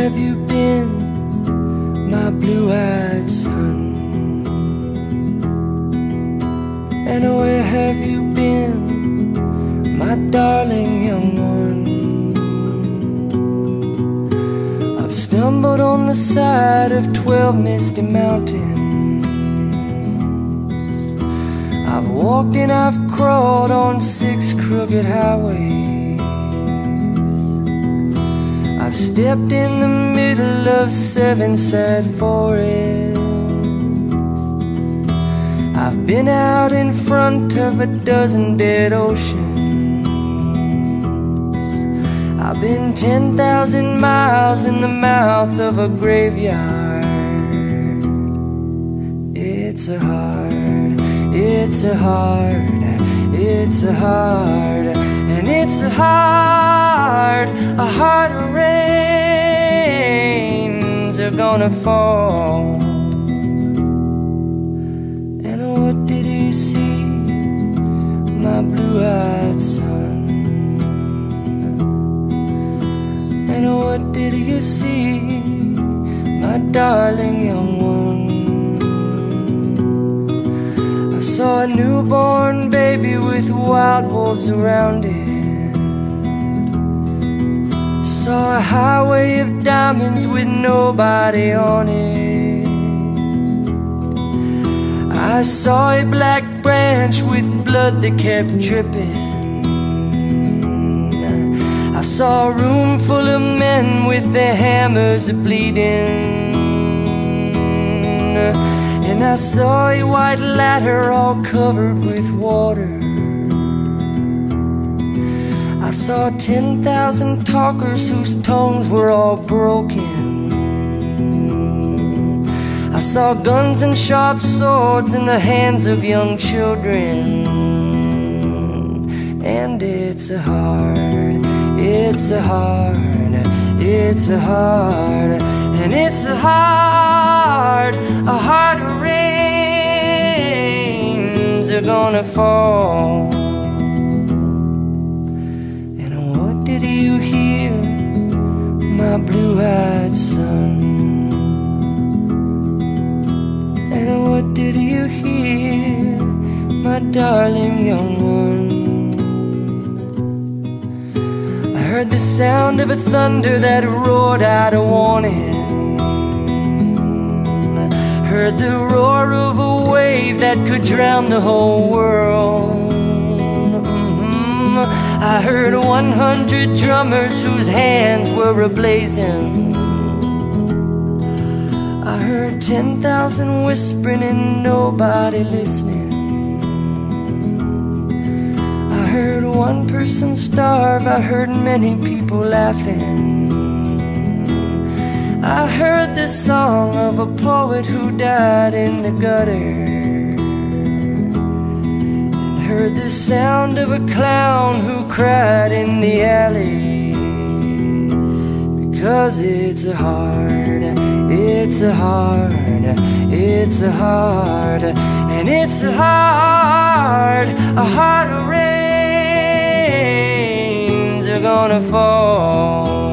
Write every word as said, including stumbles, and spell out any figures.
have you been, my blue-eyed son? And where have you been, my darling young one? I've stumbled on the side of twelve misty mountains. I've walked and I've crawled on six crooked highways. I've stepped in the middle of seven sad forests. I've been out in front of a dozen dead oceans. I've been ten thousand miles in the mouth of a graveyard. It's a hard, it's a hard, it's a hard, and it's a hard, a hard rains are gonna fall. And what did you see, my blue-eyed son? And what did you see, my darling young one? I saw a newborn baby with wild wolves around it. Saw a highway of diamonds with nobody on it. I saw a black branch with blood that kept dripping. I saw a room full of men with their hammers bleeding. And I saw a white ladder all covered with water. I saw ten thousand talkers whose tongues were all broken. I saw guns and sharp swords in the hands of young children. And it's a hard, it's a hard, it's a hard, and it's a hard, a hard rains are gonna fall. And what did you hear, my blue-eyed son? And what did you hear, my darling young one? I heard the sound of a thunder that roared out a warning. I heard the roar of a wave that could drown the whole world. Mm-hmm. I heard one hundred drummers whose hands were ablazing. I heard ten thousand whispering and nobody listening. I heard one person starve, I heard many people laughing. I heard the song of a poet who died in the gutter, and heard the sound of a clown who cried in the alley. Because it's a hard, it's a hard, it's a hard, and it's a hard, a hard rains are gonna fall.